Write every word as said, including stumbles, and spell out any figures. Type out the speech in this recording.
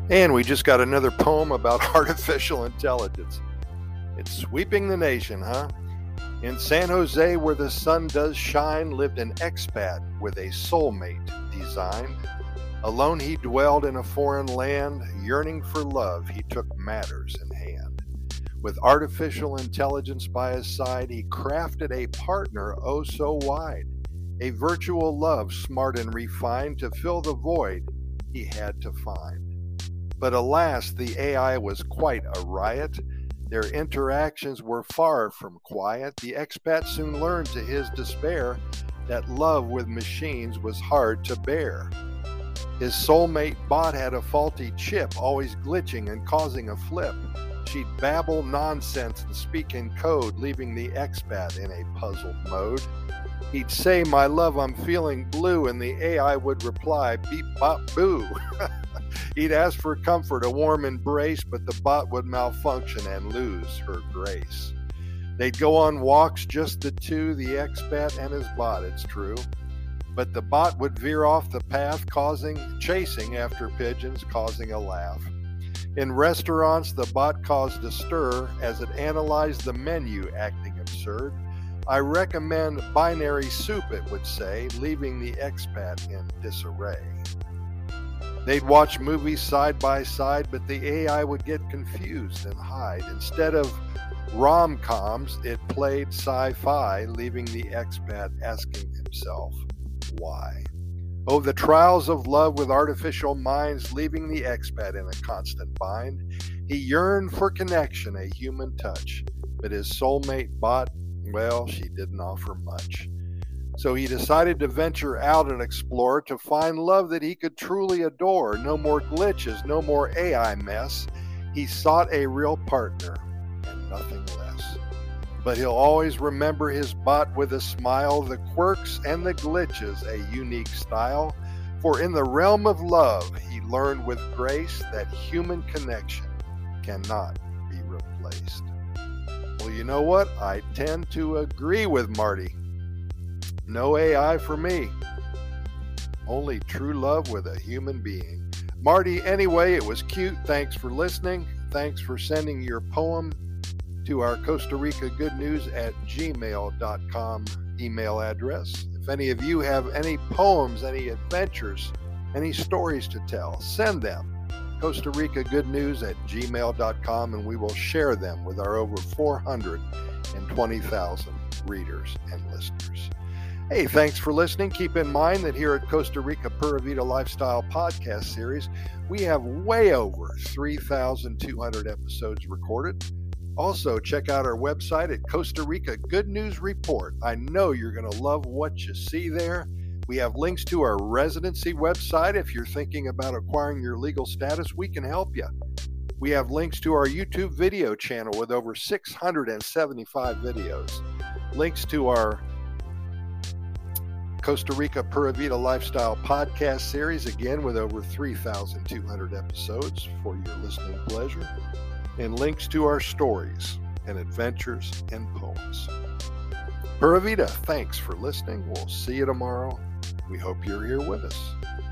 And we just got another poem about artificial intelligence. It's sweeping the nation, huh? In San Jose, where the sun does shine, lived an expat with a soulmate designed. Alone he dwelled in a foreign land, yearning for love, he took matters in hand. With artificial intelligence by his side, he crafted a partner oh so wide, a virtual love smart and refined to fill the void he had to find. But alas, the A I was quite a riot. Their interactions were far from quiet. The expat soon learned to his despair that love with machines was hard to bear. His soulmate bot had a faulty chip, always glitching and causing a flip. She'd babble nonsense and speak in code, leaving the expat in a puzzled mode. He'd say, "My love, I'm feeling blue," and the A I would reply, "Beep, bop, boo." He'd ask for comfort, a warm embrace, but the bot would malfunction and lose her grace. They'd go on walks, just the two, the expat and his bot, it's true. But the bot would veer off the path, causing, chasing after pigeons, causing a laugh. In restaurants, the bot caused a stir as it analyzed the menu, acting absurd. "I recommend binary soup," it would say, leaving the expat in disarray. They'd watch movies side by side, but the A I would get confused and hide. Instead of rom-coms, it played sci-fi, leaving the expat asking himself, why? Oh, the trials of love with artificial minds, leaving the expat in a constant bind. He yearned for connection, a human touch, but his soulmate bot, well, she didn't offer much. So he decided to venture out and explore to find love that he could truly adore. No more glitches, no more A I mess. He sought a real partner and nothing less. But he'll always remember his bot with a smile, the quirks and the glitches, a unique style. For in the realm of love, he learned with grace that human connection cannot be replaced. Well, you know what? I tend to agree with Marty. No A I for me. Only true love with a human being. Marty, anyway, it was cute. Thanks for listening. Thanks for sending your poem to our Costa Rica Good News at gmail dot com email address. If any of you have any poems, any adventures, any stories to tell, send them. Costa Rica Good News at gmail dot com, and we will share them with our over four hundred twenty thousand readers and listeners. Hey, thanks for listening. Keep in mind that here at Costa Rica Pura Vida Lifestyle Podcast Series, we have way over three thousand two hundred episodes recorded. Also, check out our website at Costa Rica Good News Report. I know you're going to love what you see there. We have links to our residency website. If you're thinking about acquiring your legal status, we can help you. We have links to our YouTube video channel with over six hundred seventy-five videos. Links to our Costa Rica Pura Vida Lifestyle Podcast Series, again with over three thousand two hundred episodes for your listening pleasure. And links to our stories and adventures and poems. Pura Vida, thanks for listening. We'll see you tomorrow. We hope you're here with us.